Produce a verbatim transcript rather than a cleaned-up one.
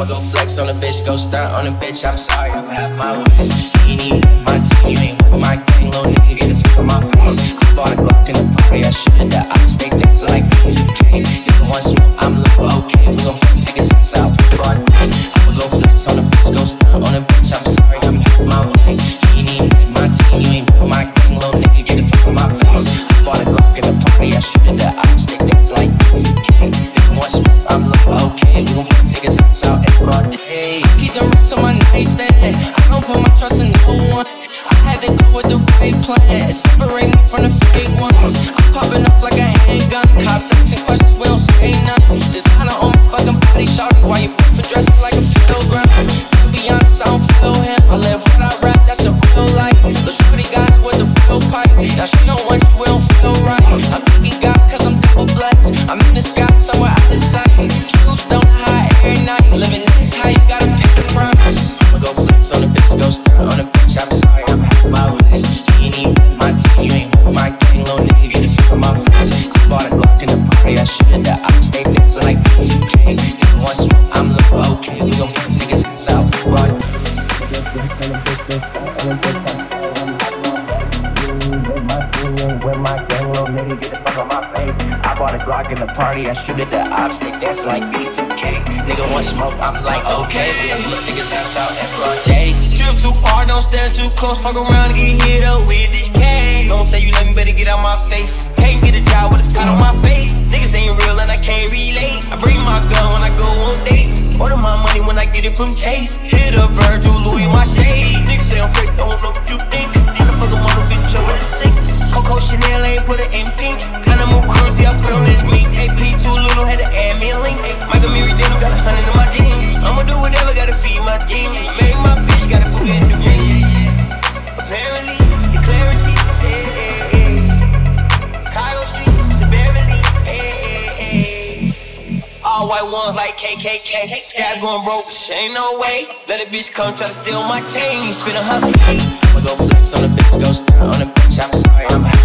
I'ma go flex on a bitch, go stunt on a bitch. I'm sorry, I'ma have my way. You ain't with my team, you ain't with my gang. Little nigga, get the fuck on my face. I bought a Glock in the party, I should've done. I'm stage dancing like B two K. Nigga want smoke, I'm like, okay. We gon' take his ass out, broad day. I'ma go flex on a bitch, go stunt on a bitch. I'm sorry, I'ma have my way. You ain't with my team, you ain't with my gang. Little nigga, get the fuck on my face. I bought a Glock in the party, I should've done. I'm stage dancing like B two K. Nigga want smoke, I'm like, okay. We gon' take his ass out, broad day. Keep them rocks on my nightstand. I don't put my trust in no one. I had to go with the right plan. Separate me from the fake ones. I'm popping off like a handgun. Cops asking questions, we don't say nothing. Just kinda on my fucking body, shawty. Why you for dressing like a pilgrim? To be honest, I don't feel him. I live what I rap, that's a real life. The shorty got with the real pipe. Now she don't want you, we don't feel right. I'm thinking God, cause I'm double blessed. I'm in the sky, somewhere out of sight. Truths don't hide every night. Living this high, you gotta pay the price. I'ma go flex on a bitch, go stunt on a bitch. I'm sorry, I'm half my way. You ain't even with my team, you ain't with my gang. Little nigga, get the fuck on my face. I bought a Glock in the party, I should've done. I'm stage dancing like B two K. Nigga want smoke, I'm like, okay. We gon' take his ass out, run. With my gang, little nigga, get the fuck on my face. I bought a Glock in the party, I should've done. I'm stage dancing like B two K. Nigga want smoke, I'm like, okay. We gon' take his ass out and broad day. Trip too hard, don't stand too close. Fuck around and get hit up with this K. Don't say you love me, better get out my face. Can't get a job with a tie on my face. Niggas ain't real and I can't relate. I bring my gun when I go on dates. Order my money when I get it from Chase. Hit up Virgil, Louis, my shade. Niggas say I'm fake, don't know what you think. Then I fuck a mother bitch over the sink. Coco Chanel ain't put it in pink. Kinda move cruisy, I put on this meat. A P too little, had to add me a link. Michael Mary Daniel got a hundred in my jeans. I'ma do whatever, gotta feed my team. Make my bitch, gotta put it in the ring. Apparently, the clarity, eh, eh, eh. Chicago streets to Beverly, eh, eh, eh. All white ones like K K K. Skies going broke, ain't no way. Let a bitch come try to steal my chain. Spin on her feet. I'ma go flex on a bitch, go stunt on a bitch. I'm sorry, I'm